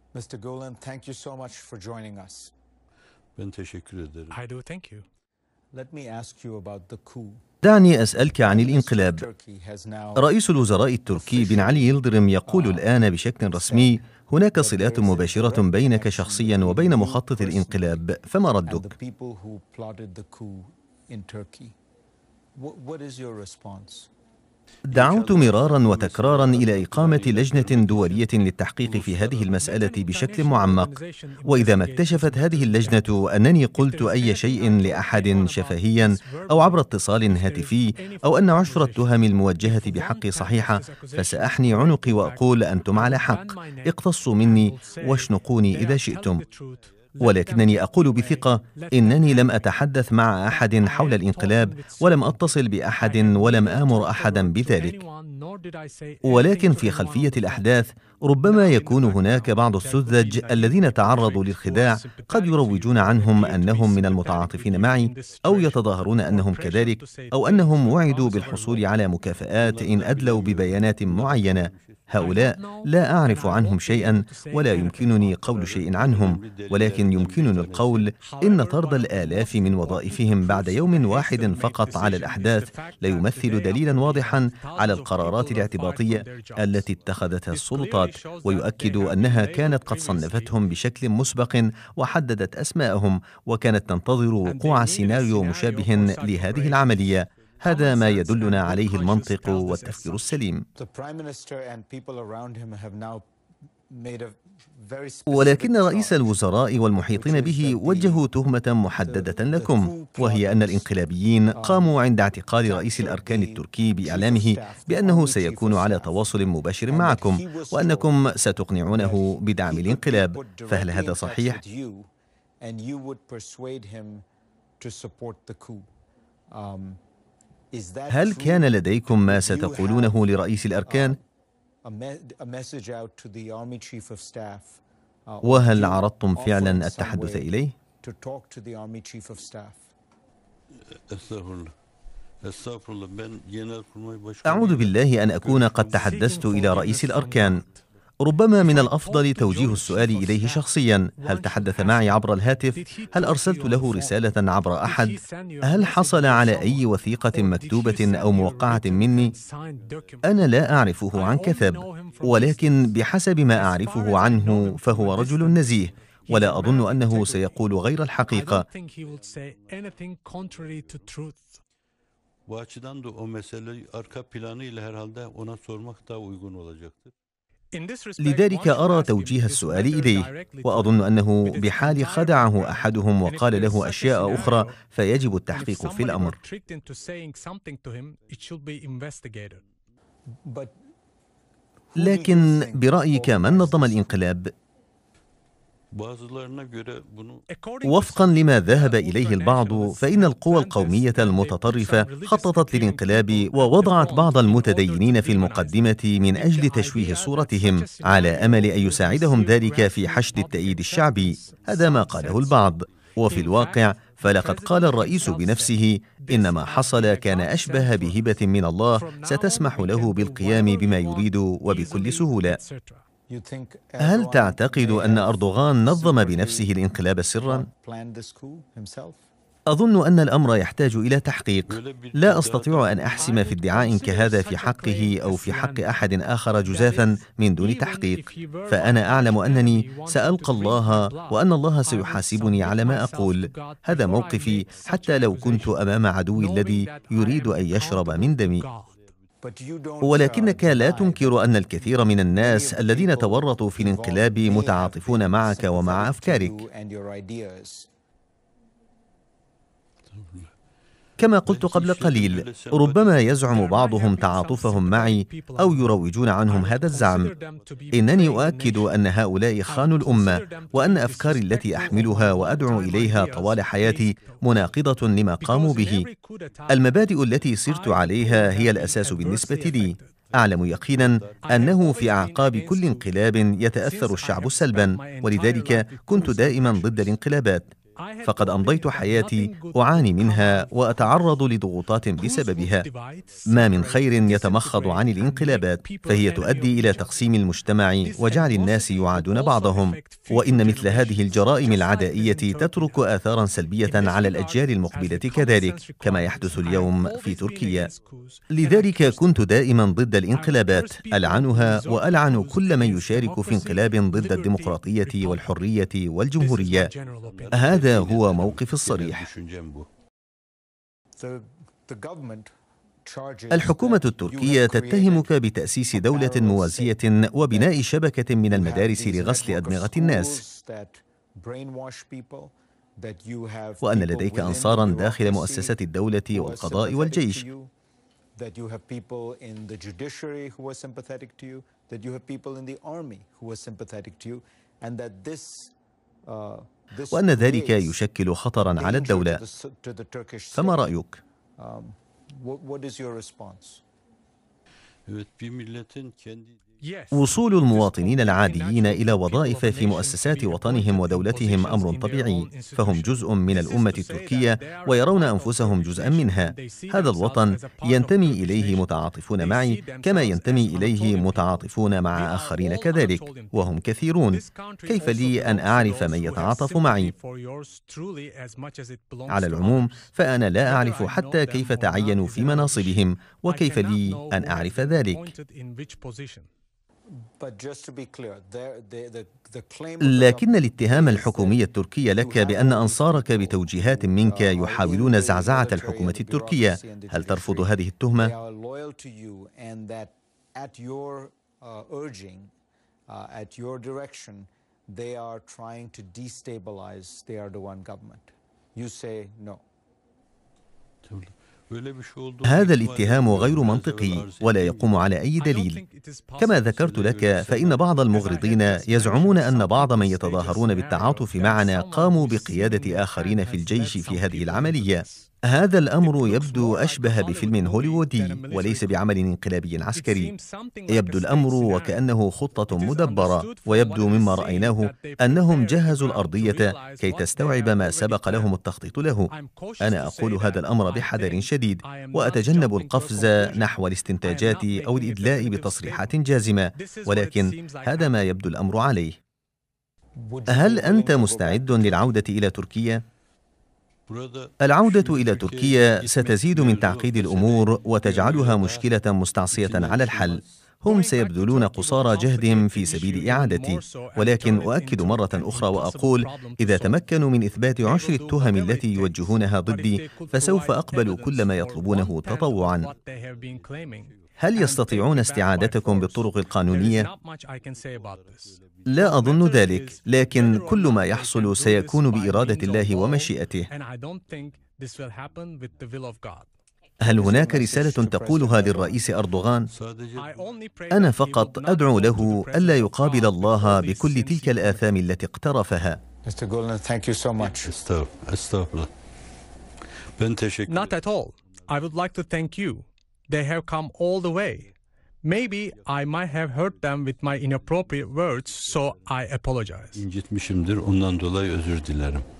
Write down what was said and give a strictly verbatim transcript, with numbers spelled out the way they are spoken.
mister Gulen, thank you so much for joining us. Ben teşekkür ederim. I do thank you. Let me ask you about the coup. دعني أسألك عن الانقلاب. رئيس الوزراء التركي بن علي يلدرم يقول الآن بشكل رسمي: هناك صلات مباشرة بينك شخصيا وبين مخطط الانقلاب، فما ردك؟ دعوت مرارا وتكرارا إلى إقامة لجنة دولية للتحقيق في هذه المسألة بشكل معمق، وإذا ما اكتشفت هذه اللجنة أنني قلت أي شيء لأحد شفهيا أو عبر اتصال هاتفي، أو أن عشر التهم الموجهة بحقي صحيحة، فسأحني عنقي وأقول: أنتم على حق، اقتصوا مني واشنقوني إذا شئتم. ولكنني أقول بثقة إنني لم أتحدث مع أحد حول الانقلاب، ولم أتصل بأحد، ولم آمر أحدا بذلك. ولكن في خلفية الأحداث ربما يكون هناك بعض السذج الذين تعرضوا للخداع، قد يروجون عنهم أنهم من المتعاطفين معي، أو يتظاهرون أنهم كذلك، أو أنهم وعدوا بالحصول على مكافآت إن أدلوا ببيانات معينة. هؤلاء لا أعرف عنهم شيئا، ولا يمكنني قول شيء عنهم، ولكن يمكنني القول إن طرد الآلاف من وظائفهم بعد يوم واحد فقط على الأحداث لا يمثل دليلا واضحا على القرارات الاعتباطية التي اتخذتها السلطات، ويؤكد أنها كانت قد صنفتهم بشكل مسبق وحددت أسماءهم، وكانت تنتظر وقوع سيناريو مشابه لهذه العملية. هذا ما يدلنا عليه المنطق والتفكير السليم. ولكن رئيس الوزراء والمحيطين به وجهوا تهمة محددة لكم، وهي أن الانقلابيين قاموا عند اعتقال رئيس الأركان التركي بإعلامه بأنه سيكون على تواصل مباشر معكم، وأنكم ستقنعونه بدعم الانقلاب، فهل هذا صحيح؟ هل كان لديكم ما ستقولونه لرئيس الأركان؟ وهل عرضتم فعلا التحدث إليه؟ أعوذ بالله أن أكون قد تحدثت إلى رئيس الأركان. ربما من الأفضل توجيه السؤال إليه شخصيا. هل تحدث معي عبر الهاتف؟ هل أرسلت له رسالة عبر أحد؟ هل حصل على أي وثيقة مكتوبة أو موقعة مني؟ أنا لا أعرفه عن كثب، ولكن بحسب ما أعرفه عنه فهو رجل نزيه، ولا أظن أنه سيقول غير الحقيقة. لذلك أرى توجيه السؤال إليه، وأظن أنه بحال خدعه أحدهم وقال له أشياء أخرى فيجب التحقيق في الأمر. لكن برأيك من نظم الانقلاب؟ وفقا لما ذهب إليه البعض، فإن القوى القومية المتطرفة خططت للانقلاب ووضعت بعض المتدينين في المقدمة من أجل تشويه صورتهم، على أمل أن يساعدهم ذلك في حشد التأييد الشعبي. هذا ما قاله البعض، وفي الواقع فلقد قال الرئيس بنفسه إن ما حصل كان أشبه بهبة من الله ستسمح له بالقيام بما يريد وبكل سهولة. هل تعتقد أن أردوغان نظم بنفسه الانقلاب سرا؟ أظن أن الأمر يحتاج إلى تحقيق. لا أستطيع أن أحسم في ادعاء كهذا في حقه أو في حق أحد آخر جزافا من دون تحقيق، فأنا أعلم أنني سألقى الله وأن الله سيحاسبني على ما أقول. هذا موقفي حتى لو كنت أمام عدوي الذي يريد أن يشرب من دمي. ولكنك لا تنكر أن الكثير من الناس الذين تورطوا في الانقلاب متعاطفون معك ومع أفكارك. كما قلت قبل قليل، ربما يزعم بعضهم تعاطفهم معي أو يروجون عنهم هذا الزعم. إنني أؤكد أن هؤلاء خانوا الأمة، وأن أفكاري التي أحملها وأدعو إليها طوال حياتي مناقضة لما قاموا به. المبادئ التي سرت عليها هي الأساس بالنسبة لي. أعلم يقينا أنه في أعقاب كل انقلاب يتأثر الشعب سلبا، ولذلك كنت دائما ضد الانقلابات. فقد أمضيت حياتي أعاني منها وأتعرض لضغوطات بسببها. ما من خير يتمخض عن الانقلابات، فهي تؤدي إلى تقسيم المجتمع وجعل الناس يعادون بعضهم، وإن مثل هذه الجرائم العدائية تترك آثارا سلبية على الأجيال المقبلة كذلك، كما يحدث اليوم في تركيا. لذلك كنت دائما ضد الانقلابات، ألعنها وألعن كل من يشارك في انقلاب ضد الديمقراطية والحرية والجمهورية. هذا هو موقف الصريح. الحكومة التركية تتهمك بتأسيس دولة موازية وبناء شبكة من المدارس لغسل أدمغة الناس، وأن لديك أنصارا داخل مؤسسات الدولة والقضاء والجيش، وأن ذلك يشكل خطرا على الدولة. فما رأيك؟ وصول المواطنين العاديين إلى وظائف في مؤسسات وطنهم ودولتهم أمر طبيعي، فهم جزء من الأمة التركية ويرون أنفسهم جزءا منها. هذا الوطن ينتمي إليه متعاطفون معي كما ينتمي إليه متعاطفون مع آخرين كذلك، وهم كثيرون. كيف لي أن أعرف من يتعاطف معي؟ على العموم فأنا لا أعرف حتى كيف تعينوا في مناصبهم، وكيف لي أن أعرف ذلك؟ لكن الاتهام الحكومي التركي لك بأن أنصارك بتوجيهات منك يحاولون زعزعة الحكومة التركية، هل ترفض هذه التهمة؟ هذا الاتهام غير منطقي ولا يقوم على أي دليل. كما ذكرت لك، فإن بعض المغرضين يزعمون أن بعض من يتظاهرون بالتعاطف معنا قاموا بقيادة آخرين في الجيش في هذه العملية. هذا الأمر يبدو أشبه بفيلم هوليوودي وليس بعمل انقلابي عسكري. يبدو الأمر وكأنه خطة مدبرة، ويبدو مما رأيناه أنهم جهزوا الأرضية كي تستوعب ما سبق لهم التخطيط له. أنا أقول هذا الأمر بحذر شديد، وأتجنب القفز نحو الاستنتاجات أو الإدلاء بتصريحات جازمة، ولكن هذا ما يبدو الأمر عليه. هل أنت مستعد للعودة إلى تركيا؟ العودة إلى تركيا ستزيد من تعقيد الأمور وتجعلها مشكلة مستعصية على الحل. هم سيبذلون قصارى جهدهم في سبيل إعادتي، ولكن أؤكد مرة أخرى وأقول: إذا تمكنوا من إثبات عشر التهم التي يوجهونها ضدي فسوف أقبل كل ما يطلبونه تطوعا. هل يستطيعون استعادتكم بالطرق القانونية؟ لا أظن ذلك، لكن كل ما يحصل سيكون بإرادة الله ومشيئته. هل هناك رسالة تقولها للرئيس أردوغان؟ أنا فقط أدعو له ألا يقابل الله بكل تلك الآثام التي اقترفها. Mister Gulen, thank you so much. Not at all. I would like to thank you. They have come all the way. Maybe I might have hurt them with my inappropriate words, so I apologize. İncitmişimdir, ondan dolayı özür dilerim.